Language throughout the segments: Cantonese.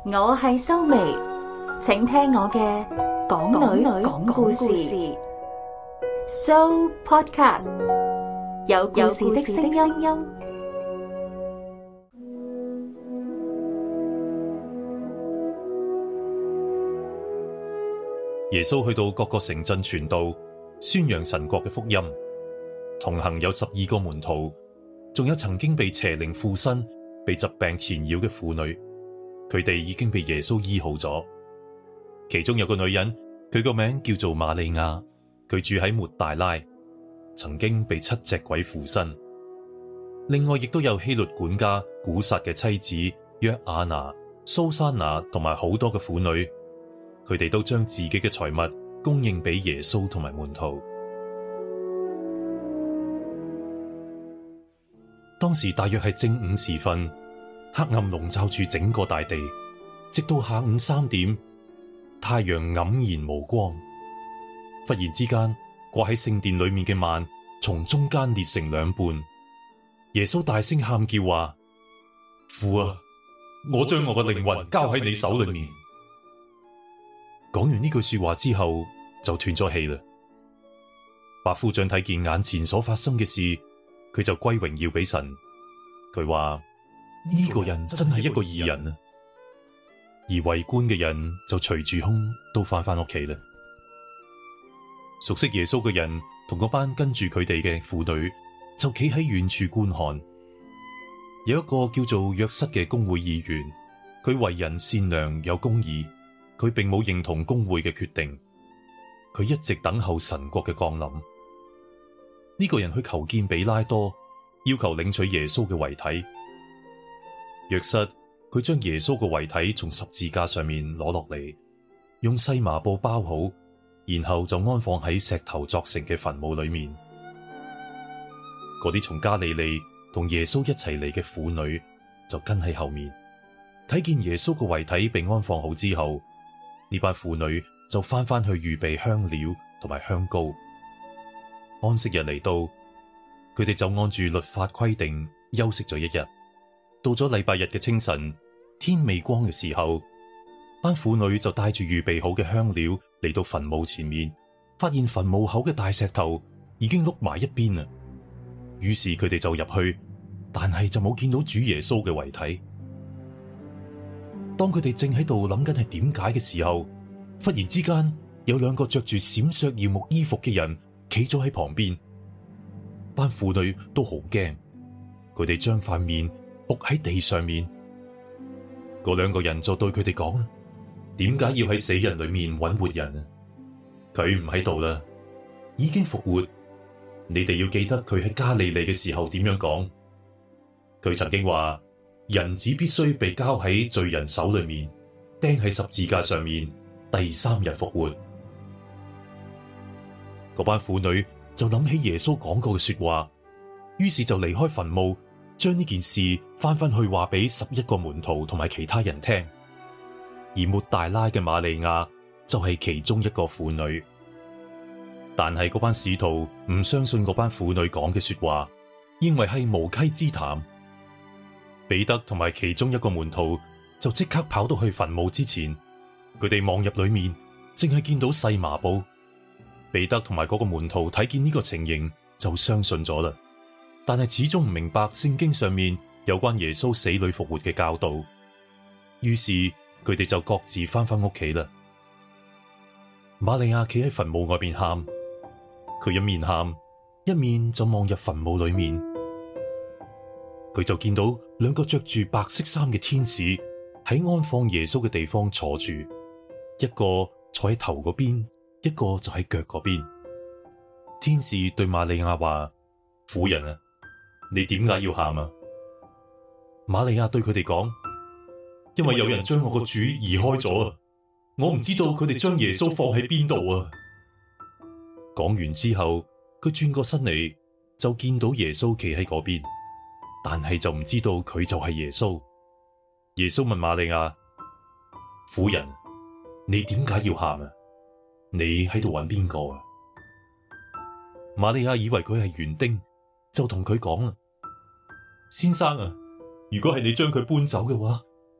我係修眉，請聽我嘅港女講故事So Podcast， 有故事的聲音。 耶穌去到各個城鎮傳道，宣揚神國嘅福音。同行有12個門徒，仲有曾經被邪靈附身、被疾病纏繞嘅婦女，佢哋已經被耶穌醫好咗。其中有個女人，佢個名叫做瑪利亞，佢住喺抹大拉，曾經被7隻鬼附身。另外亦都有希律管家古撒嘅妻子約亞拿、蘇珊娜同埋好多嘅婦女，佢哋都將自己嘅財物供應俾耶穌同埋門徒。當時大約係正午時分，黑暗籠罩住整個大地，直到下午3點，太陽黯然無光。忽然之間，掛喺聖殿裏面嘅幔從中間裂成兩半。耶穌大聲喊叫話：父啊，我將我嘅靈魂交喺你手裏面。講完呢句說話之後，就斷咗氣啦。百夫長睇見眼前所發生嘅事，佢就歸榮耀俾神。佢話呢個人真係一個義人啊！而圍觀嘅人就隨住空都翻屋企啦。熟悉耶穌嘅人同嗰班跟住佢哋嘅婦女就企喺遠處觀看。有一個叫做約瑟嘅公會議員，佢為人善良有公義，佢並冇認同公會嘅決定，佢一直等候神國嘅降臨。呢個人去求見比拉多，要求領取耶穌嘅遺體。約瑟佢將耶穌嘅遺體從十字架上面攞落嚟，用細麻布包好，然後就安放喺石頭鑿成嘅墳墓裏面。嗰啲從加利利同耶穌一齊嚟嘅婦女就跟喺後面，睇見耶穌嘅遺體被安放好之後，呢班婦女就翻去預備香料同埋香膏。安息日嚟到，佢哋就按住律法規定休息咗一日。到咗禮拜日嘅清晨，天未光嘅時候，班婦女就帶住預備好嘅香料嚟到墳墓前面，發現墳墓口嘅大石頭已經碌埋一邊啦。於是佢哋就入去，但係就冇見到主耶穌嘅遺體。當佢哋正喺度諗緊係點解嘅時候，忽然之間有兩個着住閃爍耀目衣服嘅人企咗喺旁邊。班婦女都好驚，佢哋將塊面伏喺地上面。嗰兩個人就對佢哋講：點解要喺死人裏面揾活人啊？佢唔喺度啦，已經復活。你哋要記得佢喺加利利嘅時候點樣講。佢曾經話：人子必須被交喺罪人手裏面，釘喺十字架上面，第3日復活。嗰班婦女就諗起耶穌講過嘅說話，於是就離開墳墓，將呢件事翻去話俾11個門徒同埋其他人聽。而抹大拉嘅瑪利亞就係其中一個婦女。但係嗰班使徒唔相信嗰班婦女講嘅說話，認為係無稽之談。彼得同埋其中一個門徒就即刻跑到去墳墓之前，佢哋望入裏面，淨係見到細麻布。彼得同埋嗰個門徒睇見呢個情形就相信咗啦，但係始終唔明白聖經上面有關耶穌死裏復活嘅教導。於是佢哋就各自翻屋企啦。瑪利亞企喺墳墓外邊喊，佢一面喊一面就望入墳墓裏面。佢就見到兩個着住白色衫嘅天使喺安放耶穌嘅地方坐住，一個坐喺頭嗰邊，一個就喺腳嗰邊。天使對瑪利亞話：婦人啊，你點解要喊啊？瑪利亞對佢哋講：因為有人將我個主移開咗啊，我唔知道佢哋將耶穌放喺邊度啊。講完之後，佢轉過身嚟，就見到耶穌企喺嗰邊，但係就唔知道佢就係耶穌。耶穌問瑪利亞：婦人，你點解要喊啊？你喺度揾邊個啊？瑪利亞以為佢係園丁，就同佢講啦：先生啊，如果係你將佢搬走嘅話，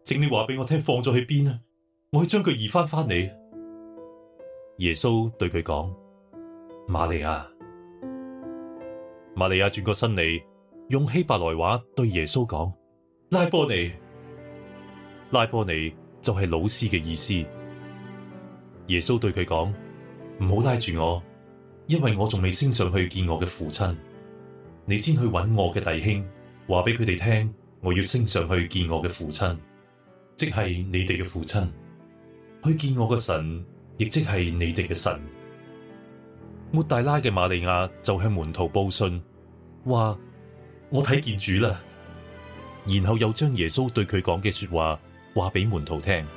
請你話俾我聽放咗去邊啊，我去將佢移翻嚟。耶穌對佢講：瑪利亞。瑪利亞轉過身嚟，用希伯來話對耶穌講：拉波尼。拉波尼就係老師嘅意思。耶穌對佢講：唔好拉住我，因為我仲未升上去見我嘅父親。你先去揾我嘅弟兄，話俾佢哋聽，我要升上去見我嘅父親，即係你哋嘅父親，去見我嘅神，亦即係你哋嘅神。抹大拉嘅瑪利亞就向門徒報信，話我睇見主啦，然後又將耶穌對佢講嘅說話話俾門徒聽。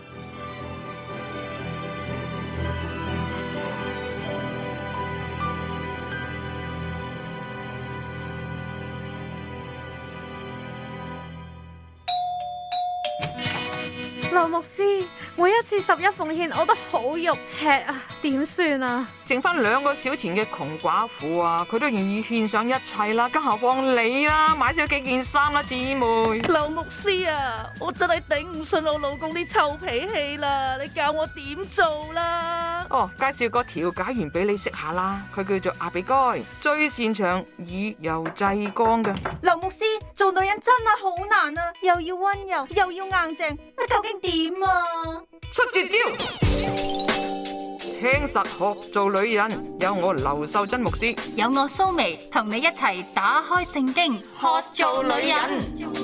劉牧師，每一次十一奉獻我都好肉赤啊，點算啊？ 剩翻2個小錢嘅窮寡婦啊，佢都願意獻上一切啦，更何況你啦，買少幾件衫啦，姊妹。 劉牧師啊，我真係頂唔順我老公啲臭脾氣啦，你教我點做啦？ 哦，介紹個調解員俾你識下啦，佢叫做阿比該，最擅長以柔制剛嘅。 劉牧師，做女人真係好難啊，又要溫柔又要硬淨，究竟點啊？ 出絕招，聽實學做女人，有我劉秀珍牧師， 有我蘇眉，同你一齊打開聖經，學做女人。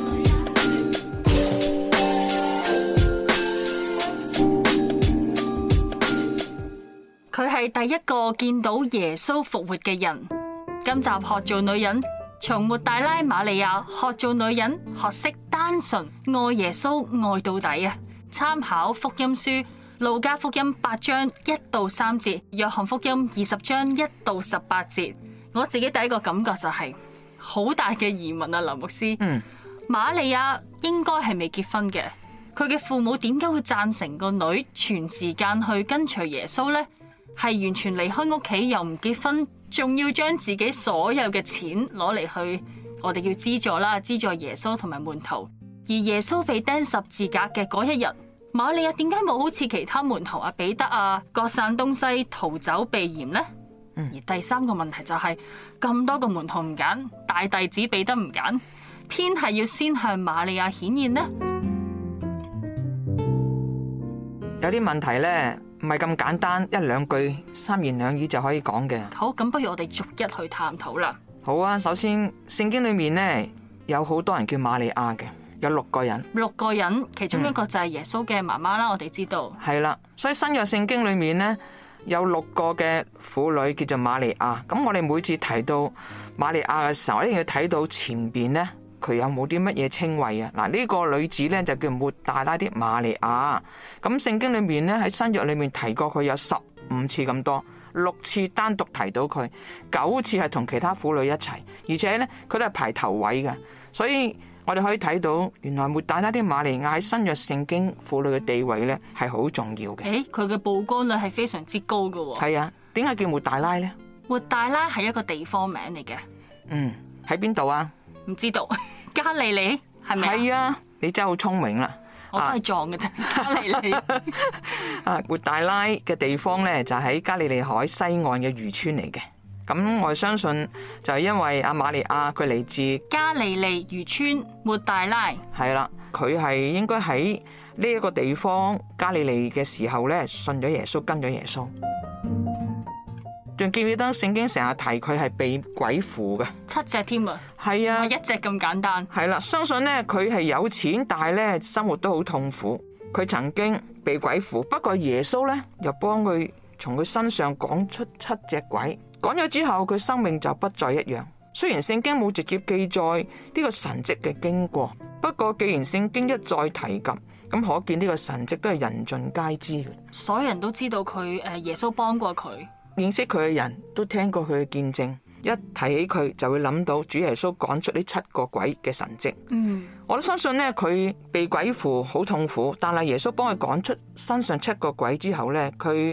佢係第一個見到耶穌復活嘅人。今集學做女人，從抹大拉瑪利亞學做女人，學識單純愛耶穌愛到底啊！參考福音書路加福音8章1到3節，約翰福音20章1到18節。我自己第一個感覺就係好大嘅疑問啊，劉牧師。瑪利亞應該係未結婚嘅，佢嘅父母點解會贊成個女全時間去跟隨耶穌呢？係完全離開屋企又唔結婚，仲要將自己所有嘅錢攞嚟去，我哋叫資助啦，資助耶穌同埋門徒。而耶穌被釘十字架嘅嗰一日，瑪利亞點解冇好似其他門徒啊彼得啊各散東西逃走避嫌呢？而第三個問題就係咁多個門徒唔揀，大弟子彼得唔揀，偏係要先向瑪利亞顯現呢？ 有啲問題呢，唔係咁簡單，一兩句三言兩語就可以講嘅。 好，咁不如我哋逐一去探討啦。 好啊，首先聖經裏面呢，有好多人叫瑪利亞嘅，有6個人。 6個人，其中一個就係耶穌嘅媽媽啦，我哋知道。 係啦，所以新約聖經裏面呢，有6個嘅婦女叫做瑪利亞。咁我哋每次提到瑪利亞嘅時候，一定要睇到前邊呢，佢有冇啲乜嘢稱謂啊？嗱，呢個女子呢，就叫抹大拉的瑪利亞。咁聖經裏面呢，喺新約裏面提過佢有15次咁多，6次單獨提到佢，9次係同其他婦女一齊，而且呢，佢都係排頭位嘅。所以我哋可以睇到，原來抹大拉的瑪利亞喺新約聖經婦女嘅地位呢係好重要嘅。 佢嘅曝光率係非常之高㗎。 係啊，點解叫抹大拉呢？ 抹大拉係一個地方名嚟嘅。 喺邊度啊？ 唔知道，加利利係咪？ 係啊，你真係好聰明啦！ 我都係撞嘅啫，加利利。 抹大拉嘅地方呢，就喺加利利海西岸嘅漁村嚟嘅。咁我相信就係因為阿瑪利亞佢嚟自加利利漁村抹大拉。 係啦，佢係應該喺呢一個地方加利利嘅時候呢，信咗耶穌，跟咗耶穌。仲記唔記得聖經成日提佢係被鬼附嘅 7隻添啊？ 係啊， 一隻咁簡單。 係啦，相信呢，佢係有錢，但係呢生活都好痛苦。佢曾經被鬼附，不過耶穌呢又幫佢從佢身上趕出7隻鬼，趕咗之後佢生命就不再一樣。雖然聖經冇直接記載呢個神蹟嘅經過，不過既然聖經一再提及，咁可見呢個神蹟都係人盡皆知嘅。 所有人都知道佢耶穌幫過佢。 認識佢嘅人都聽過佢嘅見證，一提起佢就會諗到主耶穌趕出呢7個鬼嘅神蹟。我都相信呢，佢被鬼附好痛苦，但係耶穌幫佢趕出身上7個鬼之後呢，佢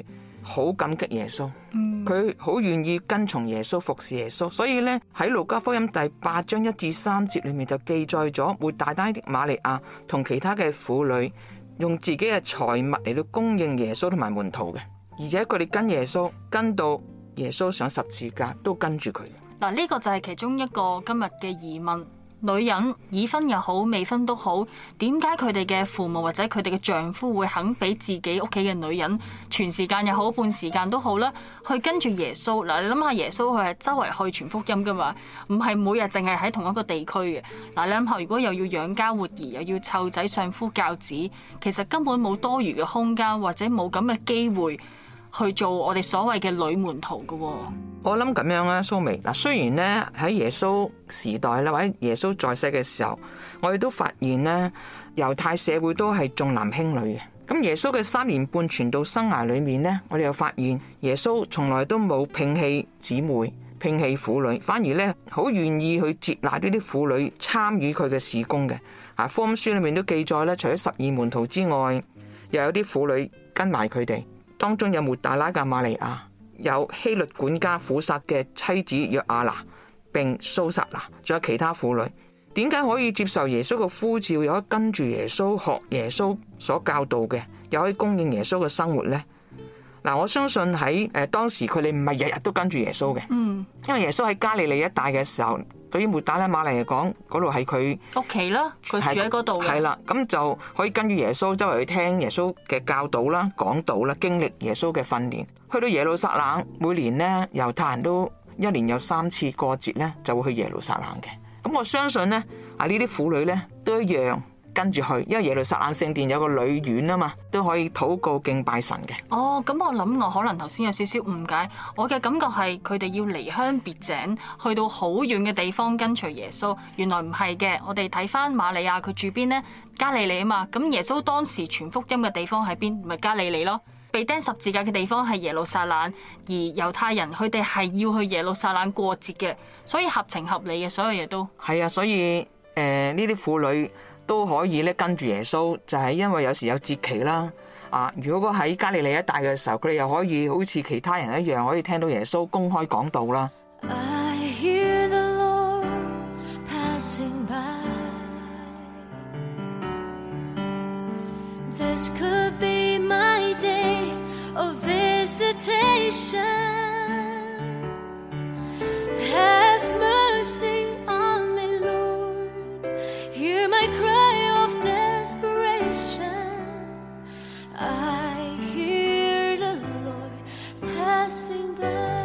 好感激耶穌，佢好願意跟從耶穌，服侍耶穌。所以呢，喺路加福音第8章1至3節裏面就記載咗抹大拉的瑪利亞同其他嘅婦女用自己嘅財物嚟到供應耶穌同埋門徒嘅，而且佢哋跟耶穌跟到耶穌上十字架都跟住佢。 嗱，呢個就係其中一個今日嘅疑問。女人已婚又好，未婚都好，點解佢哋嘅父母或者佢哋嘅丈夫會肯俾自己屋企嘅女人全時間又好，半時間都好啦，去跟住耶穌？嗱，你諗下，耶穌佢係周圍去傳福音噶嘛，唔係每日淨係喺同一個地區嘅。嗱，你諗下，如果又要養家活兒，又要湊仔相夫教子，其實根本冇多餘嘅空間，或者冇咁嘅機會去做我哋所謂嘅女門徒噶。 我諗咁樣啦，蘇眉嗱，雖然呢喺耶穌時代啦，或者耶穌在世嘅時候，我哋都發現呢猶太社會都係重男輕女嘅。咁耶穌嘅3年半傳道生涯裏面呢，我哋又發現耶穌從來都冇摒棄姊妹、摒棄婦女，反而呢好願意去接納呢啲婦女參與佢嘅事工嘅。啊，福音書裏面都記載咧，除咗12門徒之外，又有啲婦女跟埋佢哋，當中有抹大拉嘅瑪利亞，有希律管家苦撒嘅妻子約亞拿，並蘇撒拿，仲有其他婦女。點解可以接受耶穌嘅呼召，又可以跟住耶穌學耶穌所教導嘅，又可以供應耶穌嘅生活呢？嗱，我相信喺當時佢哋唔係日日都跟住耶穌嘅，因為耶穌喺加利利一帶嘅時候，對於抹大拉瑪利嚟講，嗰度係佢屋企啦，佢住喺嗰度嘅。係啦， 咁就可以跟住耶穌周圍去聽耶穌嘅教導啦、講道啦，經歷耶穌嘅訓練。去到耶路撒冷，每年呢，猶太人都1年有3次過節呢，就會去耶路撒冷嘅。咁我相信呢，呢啲婦女呢，都一樣跟住去，因為耶路撒冷聖殿有個女院啊嘛，都可以禱告敬拜神嘅。 哦，咁我諗我可能頭先有少少誤解，我嘅感覺係佢哋要離鄉別井，去到好遠嘅地方跟隨耶穌。原來唔係嘅，我哋睇翻瑪利亞佢住邊呢？加利利啊嘛。咁耶穌當時傳福音嘅地方喺邊？咪加利利咯。被釘十字架嘅地方係耶路撒冷，而猶太人佢哋係要去耶路撒冷過節嘅，所以合情合理嘅，所有嘢都係啊。 所以呢啲婦女都可以咧跟住耶穌，就係因為有時有節期啦。如果喺加利利一帶嘅時候，佢哋又可以好似其他人一樣，可以聽到耶穌公開講道啦。 I hear the Lord passing by. This could be my day of visitation. Have mercy on me, Lord. Hear my cry of desperation. I hear the Lord passing by.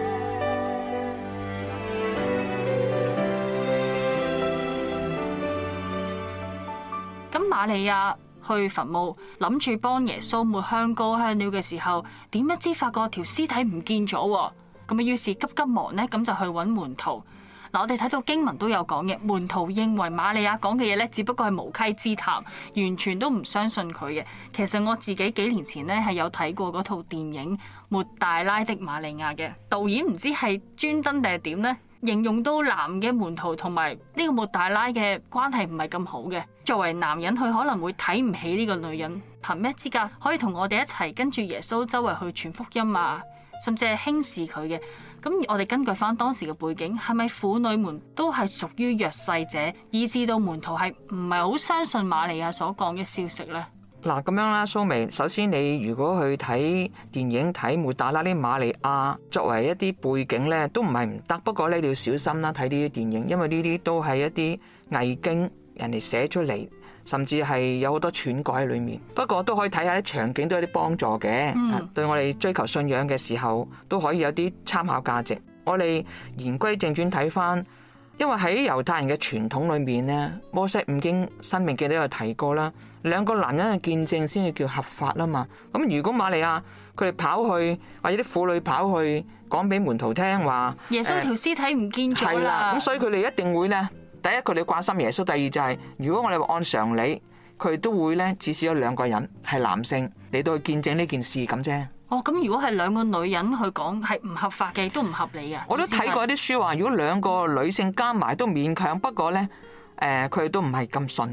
咁瑪利亞去墳墓諗住幫耶穌抹香膏香料嘅時候，點不知發覺條屍體唔見咗，咁啊於是急急忙呢，咁就去揾門徒。嗱，我哋睇到經文都有講嘅，門徒認為瑪利亞講嘅嘢呢，只不過係無稽之談，完全都唔相信佢嘅。其實我自己幾年前呢，係有睇過嗰套電影《抹大拉的瑪利亞》嘅，導演唔知係專登定係點呢，形容到男嘅門徒同埋呢個抹大拉嘅關係唔係咁好嘅。作為男人，佢可能會睇唔起呢個女人，憑咩資格可以同我哋一齊跟住耶穌周圍去傳福音啊？甚至係輕視佢嘅。咁我哋根據翻當時嘅背景，係咪婦女們都係屬於弱勢者，以致到門徒係唔係好相信瑪利亞所講嘅消息呢？ 嗱，咁樣啦，蘇眉，首先你如果去睇電影睇抹大拉啲瑪利亞作為一啲背景呢，都唔係唔得。不過你要小心啦，睇呢啲電影，因為呢啲都係一啲偽經，人哋寫出嚟，甚至係有好多篡改喺裏面。不過都可以睇下啲場景，都有啲幫助嘅。對我哋追求信仰嘅時候，都可以有啲參考價值。我哋言歸正傳睇翻，因為喺猶太人嘅傳統裏面呢，摩西五經、申命記都有提過啦，兩個男人嘅見證先至叫合法啦嘛。咁如果瑪利亞佢哋跑去，或者啲婦女跑去講俾門徒聽話， 耶穌條屍體唔見咗啦， 咁所以佢哋一定會呢。第一，佢哋關心耶穌；第二就係，如果我哋按常理，佢哋都會呢，至少有2個人係男性嚟到去見證呢件事咁啫。 哦，咁如果係2個女人去講，係唔合法嘅，亦都唔合理嘅。 我都睇過啲書話，如果2個女性加埋都勉強，不過呢，佢哋都唔係咁信嘅。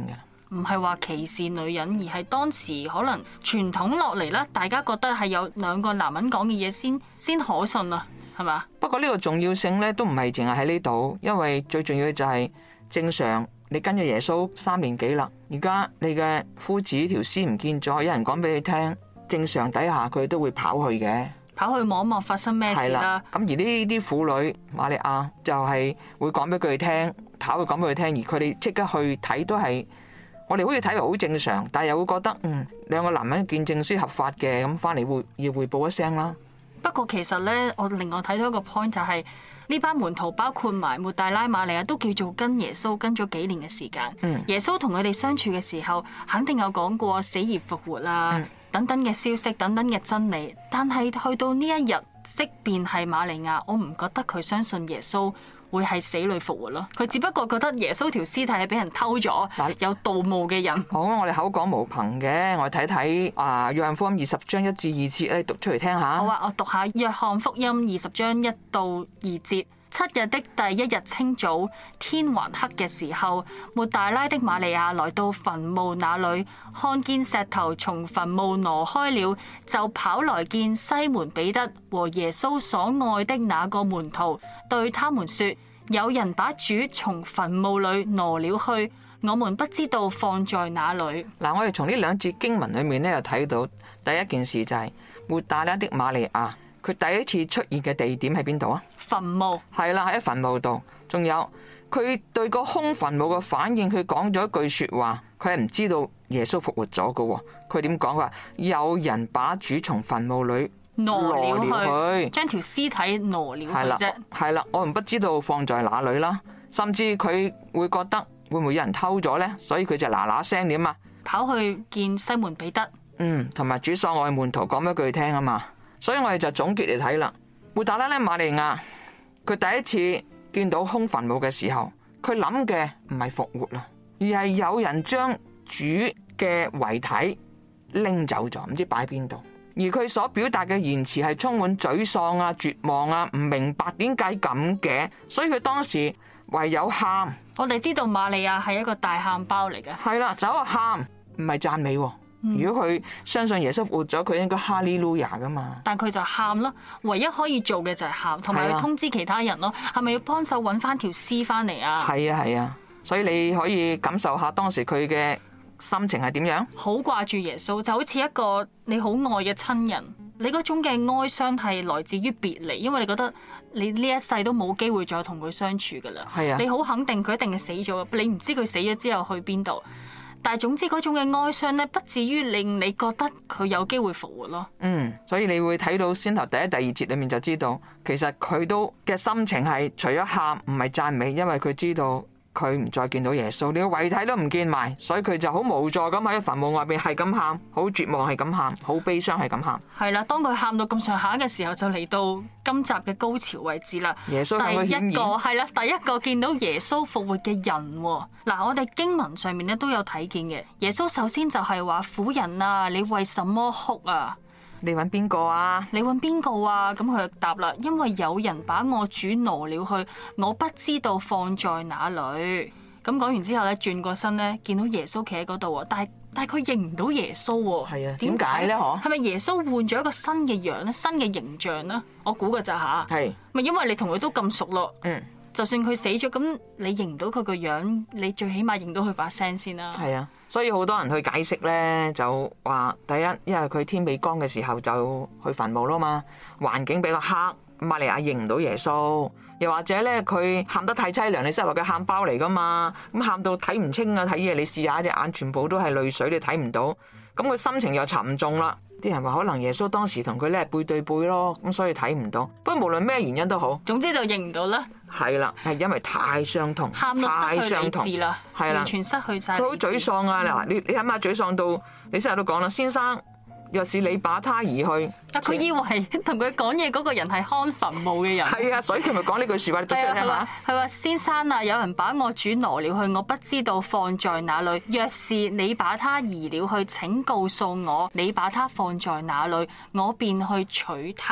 唔係話歧視女人，而係當時可能傳統落嚟啦，大家覺得係有兩個男人講嘅嘢先可信啊，係嘛？ 不過呢個重要性咧都唔係淨係喺呢度，因為最重要嘅就係正常你跟咗耶穌3年幾啦，而家你嘅夫子條屍唔見咗，有人講俾你聽，正常底下佢都會跑去嘅， 跑去望一望發生咩事啦。 咁而呢啲婦女瑪利亞就係會講俾佢哋聽，跑去講俾佢聽，而佢哋即刻去睇都係，我哋好似睇嚟好正常，但係又會覺得兩個男人見證書合法嘅，咁翻嚟要匯報一聲啦。 不過其實呢，我另外睇到一個 point 就係呢班門徒包括埋抹大拉瑪利亞都叫做跟耶穌跟咗幾年嘅時間。耶穌同佢哋相處嘅時候，肯定有講過死而復活啦，等等嘅消息，等等嘅真理。但係去到呢一日，即便係瑪利亞，我唔覺得佢相信耶穌會係死裏復活咯。佢只不過覺得耶穌條屍體係俾人偷咗，有盜墓嘅人。 好，我哋口講無憑嘅，我哋睇睇約翰福音20章1至2節咧，讀出嚟聽下。 好啊，我讀下約翰福音20章1到2節。7日的第一日清早，天還黑嘅時候，抹大拉的瑪利亞來到墳墓那裏，看見石頭從墳墓挪開了，就跑來見西門彼得和耶穌所愛的那個門徒，對他們說：有人把主從墳墓裏挪了去，我們不知道放在哪裏。 嗱，我哋從呢2節經文裏面咧，又睇到第一件事就係抹大拉的瑪利亞，佢第一次出現嘅地點喺邊度啊？ 墳墓。係啦，喺墳墓度。仲有佢對個空墳墓嘅反應，佢講咗一句說話，佢係唔知道耶穌復活咗㗎。佢點講？話有人把主從墳墓裏挪了去， 將條屍體挪了去啫。 係啦，我唔不知道放在哪裏啦。甚至佢會覺得會唔會有人偷咗呢？所以佢就嗱嗱聲點啊， 跑去見西門彼得。 同埋主所愛門徒講一句聽啊嘛。所以我哋就總結嚟睇啦。抹大拉咧瑪利亞，佢第一次見到空墳墓嘅時候，佢諗嘅唔係復活啦，而係有人將主嘅遺體拎走咗，唔知擺邊度。而佢所表達嘅言辭係充滿沮喪啊、絕望啊，唔明白點解咁嘅，所以佢當時唯有喊。 我哋知道瑪利亞係一個大喊包嚟嘅， 係啦，就喺度喊，唔係讚美。如果佢相信耶穌復活咗，佢應該哈利路亞噶嘛。 但佢就喊咯，唯一可以做嘅就係喊，同埋去通知其他人咯。係咪要幫手揾翻條屍翻嚟啊？ 係啊，所以你可以感受下當時佢嘅心情係點樣。 好掛住耶穌，就好似一個你好愛嘅親人。你嗰種嘅哀傷係來自於別離，因為你覺得你呢一世都冇機會再同佢相處噶啦。係啊，你好肯定佢一定係死咗，你唔知佢死咗之後去邊度。但係總之嗰種嘅哀傷咧，不至於令你覺得佢有機會復活咯。 所以你會睇到先頭第一、第2節裏面就知道，其實佢都嘅心情係除咗喊唔係讚美，因為佢知道佢唔再見到耶穌，連個遺體都唔見埋，所以佢就好無助咁喺墳墓外邊係咁喊，好絕望係咁喊，好悲傷係咁喊。係啦，當佢喊到咁上下嘅時候，就嚟到今集嘅高潮位置啦。 耶穌向佢顯現。 第一個見到耶穌復活嘅人。嗱，我哋經文上面咧都有睇見嘅。耶穌首先就係話：婦人啊，你為什麼哭啊？ 你揾邊個啊？ 你揾邊個啊？咁佢就答啦：因為有人把我主挪了去，我不知道放在哪裏。咁講完之後咧，轉過身咧，見到耶穌企喺嗰度喎，但係佢認唔到耶穌喎。 係啊，點解咧？嗬？ 係咪耶穌換咗一個新嘅樣咧？新嘅形象咧？我估嘅咋吓？ 係咪因為你同佢都咁熟咯？就算佢死咗，咁你認唔到佢個樣，你最起碼認到佢把聲先啦。 係啊，所以好多人去解釋咧，就話第一，因為佢天未光嘅時候就去墳墓啦嘛，環境比較黑，瑪利亞認唔到耶穌。又或者咧，佢喊得太淒涼，你即係話佢喊包嚟噶嘛，咁喊到睇唔清啊，睇嘢你試下隻眼全部都係淚水，你睇唔到，咁佢心情又沉重啦。啲人話可能耶穌當時同佢咧背對背咯，咁所以睇唔到。不過無論咩原因都好，總之就認唔到啦。係啦，係因為太傷痛， 喊到失去理智啦， 係啦， 完全失去晒。 佢好沮喪啊！嗱，你諗下沮喪到，你成日都講啦，先生。若是你把他移去， 佢以為同佢講嘢嗰個人係看墳墓嘅人。 係啊，所以佢咪講呢句說話，你讀出嚟聽下。 佢話：先生啊，有人把我主挪了去，我不知道放在哪裏。若是你把他移了去，請告訴我，你把他放在哪裏，我便去取他。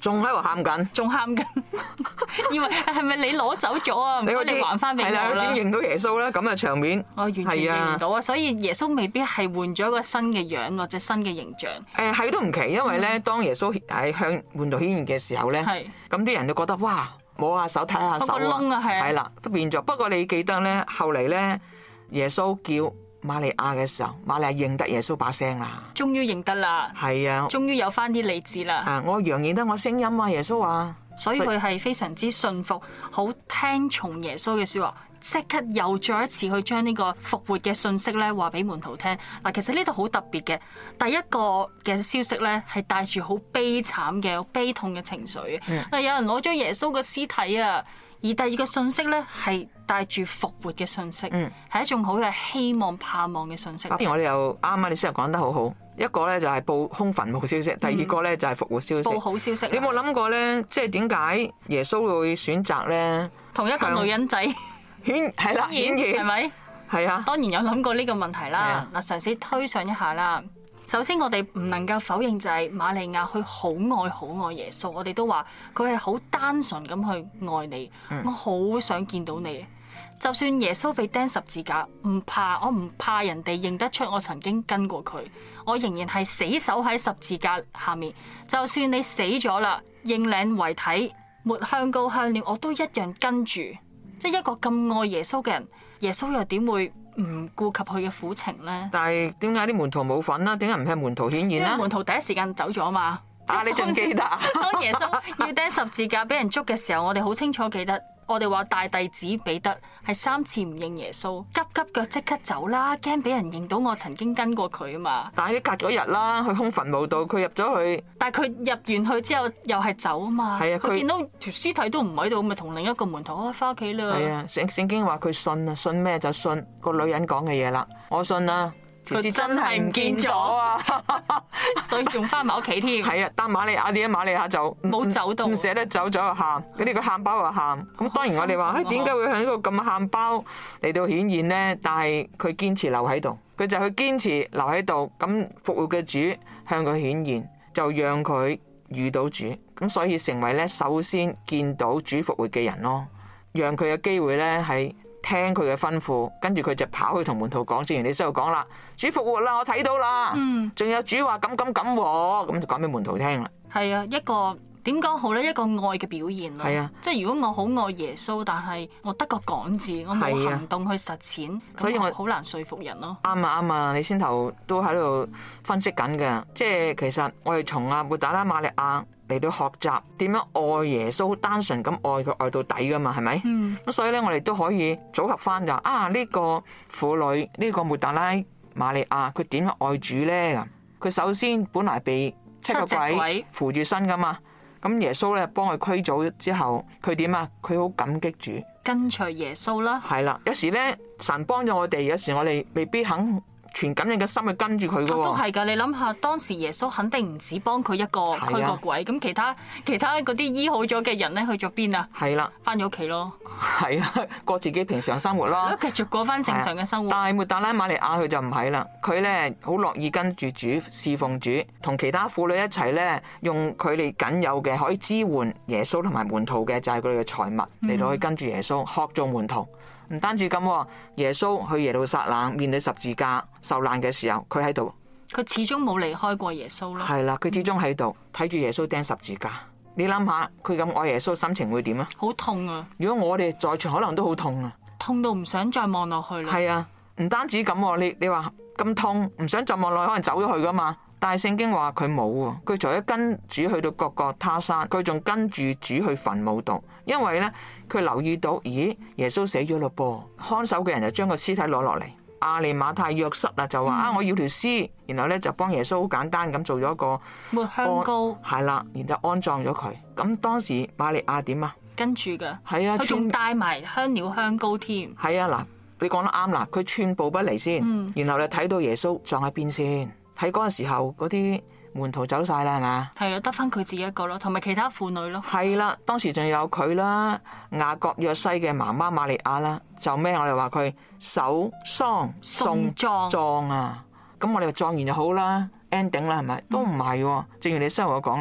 仲喺度喊緊， 仲喊緊，以為係咪你攞走咗啊？唔該，你還翻俾我係啦， 啦。 點認到耶穌咧？咁嘅場面， 我完全認唔到啊！所以耶穌未必係換咗一個新嘅樣或者新嘅形象。 係都唔奇，因為咧，當耶穌喺向門徒顯現嘅時候咧， 係咁啲人就覺得哇，摸下手睇下手嗰個窿啊，係啊係啦，都變咗。不過你記得咧，後嚟咧，耶穌叫瑪利亞嘅時候，瑪利亞認得耶穌把聲啦， 終於認得啦， 係啊， 終於有翻啲理智啦。 我羊認得我聲音啊，耶穌話。 所以佢係非常之信服，好聽從耶穌嘅說話，即刻又再一次去將呢個復活嘅信息咧話俾門徒聽。嗱，其實呢度好特別嘅，第一個嘅消息咧係帶住好悲慘嘅、悲痛嘅情緒。有人攞咗耶穌嘅屍體啊，而第二個信息咧係帶住復活嘅信息，係一種好有希望、盼望嘅信息。 我哋又啱啱你先講得好好。一個咧就係報空墳墓消息，第二個咧就係復活消息。 報好消息。 你有冇諗過咧？即係點解耶穌會選擇咧？ 同一個女人仔係啦，顯現係咪？ 係啊。 當然有諗過呢個問題啦。嗱，嘗試推想一下啦。首先，我哋唔能夠否認就係瑪利亞佢好愛耶穌。我哋都話佢係好單純咁去愛你。我好想見到你。就算耶穌被釘十字架，我唔怕人哋認得出我曾經跟過佢，我仍然係死守喺十字架下面。就算你死咗啦，認領遺體，抹香膏香料，我都一樣跟住。即係一個咁愛耶穌嘅人，耶穌又點會唔顧及佢嘅苦情呢？ 但係點解啲門徒冇份啦？點解唔係門徒顯現啦？ 因為門徒第一時間走咗嘛。 你仲記得啊？ 當耶穌要釘十字架俾人捉嘅時候，我哋好清楚記得。我哋話大弟子彼得係3次唔認耶穌，急腳即刻走啦，驚俾人認到我曾經跟過佢啊嘛。 但係你隔咗日啦，去空墳墓度，佢入咗去。 但係佢入完去之後又係走啊嘛。 係啊， 佢見到條屍體都唔喺度，咪同另一個門徒翻屋企啦。 係啊，聖經話佢信啊，信咩就信個女人講嘅嘢啦。我信啊。條屍真係唔見咗啊！ 所以仲翻埋屋企添。 係啊，但瑪利亞點解瑪利亞就冇走到， 唔捨得走咗就喊，呢個喊包就喊。咁當然我哋話，點解會向呢個咁嘅喊包嚟到顯現呢？但係佢堅持留喺度，佢就去堅持留喺度。咁復活嘅主向佢顯現，就讓佢遇到主。咁所以成為咧首先見到主復活嘅人咯，讓佢有機會咧係聽佢嘅吩咐，跟住佢就跑去同門徒講，正如你先度講啦，主復活啦，我睇到啦，仲有主話咁，咁就講俾門徒聽啦。 係啊，一個點講好咧？一個愛嘅表現咯。 係啊， 即係如果我好愛耶穌，但係我得個講字，我冇行動去實踐， 所以我好難說服人咯。 啱啊，你先頭都喺度分析緊嘅，即係其實我哋從抹大拉瑪利亞嚟到學習點樣愛耶穌，單純咁愛佢愛到底噶嘛，係咪？咁所以咧，我哋都可以組合翻就呢個婦女呢個抹大拉瑪利亞，佢點樣愛主咧？佢首先本來被7個鬼扶住身噶嘛，咁耶穌咧幫佢驅走之後，佢點啊？佢好感激主， 跟隨耶穌啦。 係啦，有時咧神幫咗我哋，有時我哋未必肯全感恩嘅心去跟住佢嘅喎。 都係㗎，你諗下當時耶穌肯定唔止幫佢一個驅個鬼，咁其他嗰啲醫好咗嘅人咧去咗邊啊？ 係啦， 翻咗屋企咯。 係啊，過自己平常生活咯， 繼續過翻正常嘅生活。 但係抹大拉瑪利亞佢就唔係啦，佢咧好樂意跟住主侍奉主，同其他婦女一齊咧用佢哋僅有嘅可以支援耶穌同埋門徒嘅就係佢哋嘅財物嚟到去跟住耶穌學做門徒。唔單止咁，耶穌去耶路撒冷面對十字架受難嘅時候，佢喺度， 佢始終冇離開過耶穌咯。 係啦，佢始終喺度睇住耶穌釘十字架。你諗下，佢咁愛耶穌，心情會點啊？ 好痛啊！ 如果我哋在場，可能都好痛啊， 痛到唔想再望落去啦。 係啊，唔單止咁，你話咁痛，唔想再望落去，可能走咗去噶嘛。但係聖經話佢冇喎，佢除咗跟主去到各個他山，佢仲跟住主去墳墓度，因為咧佢留意到，咦，耶穌死咗咯噃，看守嘅人就將個屍體攞落嚟，亞利馬太約瑟啊就話我要條屍，然後咧就幫耶穌好簡單咁做咗個抹香膏， 係啦，然後安葬咗佢。咁當時瑪利亞點啊？跟住嘅， 係啊， 佢仲帶埋香料香膏添。 係啊，嗱，你講得啱啦，佢寸步不離先，然後你睇到耶穌葬喺邊先。喺嗰陣時候，嗰啲門徒走晒啦，係嘛？係啊，得翻佢自己一個咯，同埋其他婦女咯。係啦，當時仲有佢啦，雅各約西嘅媽媽瑪利亞啦，就咩？我哋話佢守喪送葬啊！咁我哋話葬完就好啦 ，ending 啦，係咪？都唔係喎，正如你先我講啦，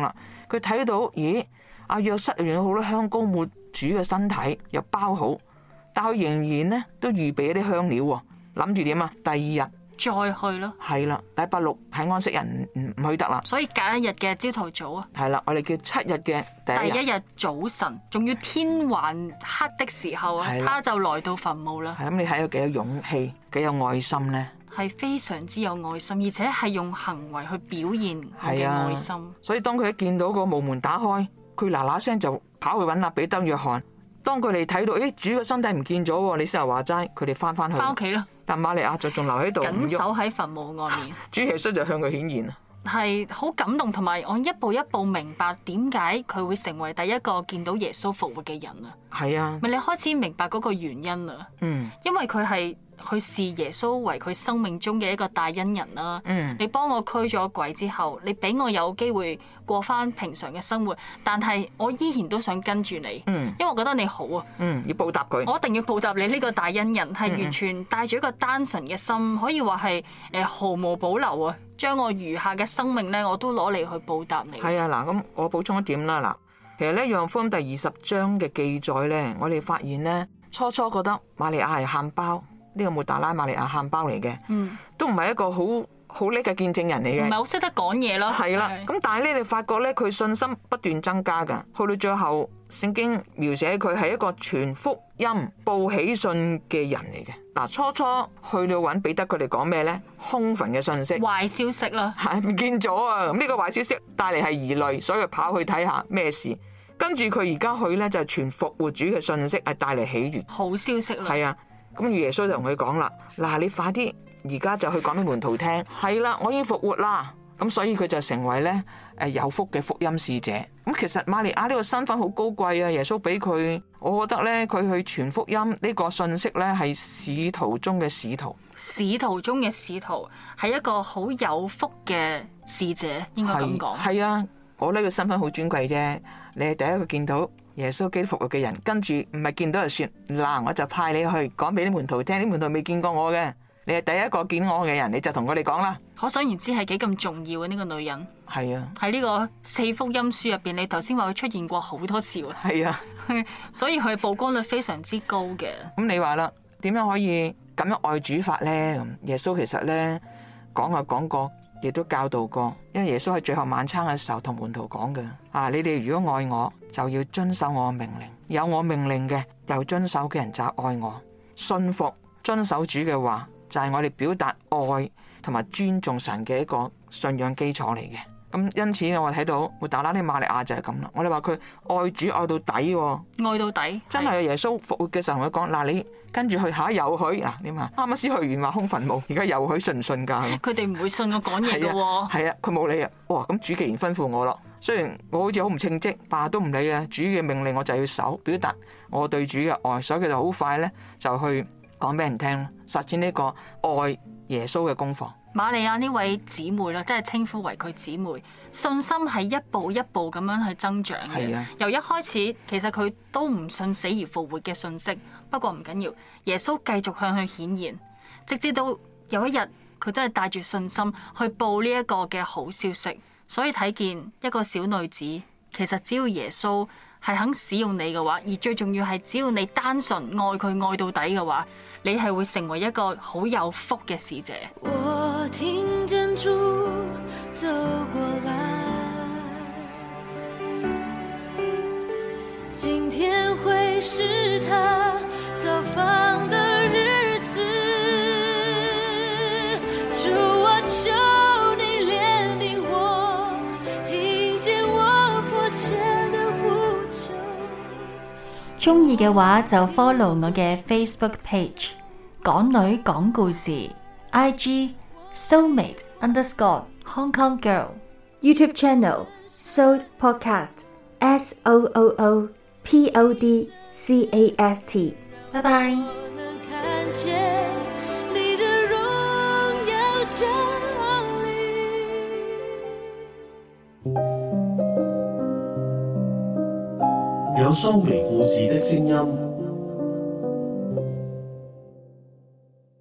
佢睇到咦，阿約瑟用咗好多香膏抹主嘅身體，又包好，但佢仍然呢都預備一啲香料喎，諗住點啊？第二日再去咯， 係啦，禮拜六係安息日唔去得啦， 所以隔一日嘅朝頭早啊， 係啦，我哋叫7日嘅第一日， 第一日早晨，仲要天還黑的時候啊， 係啦他就來到墳墓啦。 係咁，你睇到幾有勇氣，幾有愛心呢？ 係非常之有愛心，而且係用行為去表現佢嘅愛心。 所以當佢一見到個墓門打開，佢嗱嗱聲就跑去揾阿彼得、約翰。當佢哋睇到，主嘅身體唔見咗喎，你先話齋，佢哋翻去翻屋企啦。 但瑪利亞就仲留喺度， 緊守喺墳墓外面。 主耶穌就向佢顯現啊， 係好感動，同埋我一步一步明白點解佢會成為第一個見到耶穌復活嘅人啊。 係啊， 咪你開始明白嗰個原因啦。因為佢係去視耶穌為佢生命中嘅一個大恩人啦。你幫我驅咗鬼之後，你俾我有機會過翻平常嘅生活，但係我依然都想跟住你，因為我覺得你好啊。 要報答佢， 我一定要報答你呢個大恩人，係完全帶住一個單純嘅心，可以話係毫無保留啊，將我餘下嘅生命咧，我都攞嚟去報答你。 係啊，嗱，咁我補充一點啦，嗱，其實咧《約翰福音》第20章嘅記載咧，我哋發現咧，初覺得瑪利亞係喊包，呢個抹大拉瑪利亞喊包嚟嘅，都唔係一個好叻嘅見證人嚟嘅， 唔係好識得講嘢咯。 係啦，咁但係咧，你發覺咧，佢信心不斷增加噶，去到最後，聖經描寫佢係一個傳福音、報喜信嘅人嚟嘅。嗱，初去到揾彼得，佢哋講咩咧？空墳嘅信息， 壞消息啦， 係唔見咗啊！咁呢個壞消息帶嚟係疑慮，所以佢跑去睇下咩事。跟住佢而家去咧就係傳復活主嘅信息，係帶嚟喜悅，好消息啦。 係啊，咁耶穌就同佢講啦：嗱，你快啲！而家就去講俾門徒聽，係啦，我已經復活啦，咁所以佢就成為咧有福嘅福音使者。咁其實瑪利亞呢個身份好高貴啊，耶穌俾佢，我覺得咧佢去傳福音呢個信息咧係使徒中嘅使徒， 使徒中嘅使徒係一個好有福嘅使者，應該咁講。 係啊，我呢個身份好尊貴啫，你係第一個見到耶穌基督復活嘅人，跟住唔係見到就算，嗱我就派你去講俾啲門徒聽，啲門徒未見過我嘅。你係第一個見我嘅人，你就同佢哋講啦。 可想而知係幾咁重要嘅呢個女人。 係啊，喺呢個4福音書入邊，你頭先話佢出現過好多次喎。 係啊， 所以佢曝光率非常之高嘅。 咁你話啦，點樣可以咁樣愛主法咧？咁耶穌其實咧講過，亦都教導過。因為耶穌喺最後晚餐嘅時候同門徒講嘅，你哋如果愛我，就要遵守我嘅命令。有我命令嘅，又遵守嘅人就愛我。信服遵守主嘅話，就係我哋表達愛同埋尊重神嘅一個信仰基礎嚟嘅。咁因此我睇到抹大拉呢瑪利亞就係咁啦。我哋話佢愛主愛到底， 愛到底， 真係耶穌復活嘅時候同佢講：嗱，你跟住去下又去啊？點啊？啱啱先去完話空墳墓，而家又去，信唔信㗎？ 佢哋唔會信我講嘢嘅喎。 係啊，佢冇理啊。哇！咁主既然吩咐我咯，雖然我好似好唔稱職，但都唔理啊。主嘅命令我就要守，表達我對主嘅愛，所以佢就好快咧就去講俾人聽，實踐呢個愛耶穌嘅功課。 瑪利亞呢位姊妹啦，即係稱呼為佢姊妹，信心係一步一步咁樣去增長嘅。由一開始其實佢都唔信死而復活嘅信息，不過唔緊要，耶穌繼續向佢顯現，直至到有一日佢真係帶住信心去報呢一個嘅好消息。所以睇見一個小女子，其實只要耶穌係肯使用你嘅話，而最重要係只要你單純愛佢愛到底嘅話，你係會成為一個好有福嘅使者。 我聽見主走過來，今天會是他造訪的日子，主我求你憐憫我，聽見我迫切的呼求。 鍾意嘅話就 follow 我嘅 Facebook page 港女講故事， IG Soulmate _ Hong Kong Girl， YouTube channel Soul Podcast SOOOPODCAST。 拜拜。 我能看見你的榮耀降臨， 有蘇眉故事的聲音。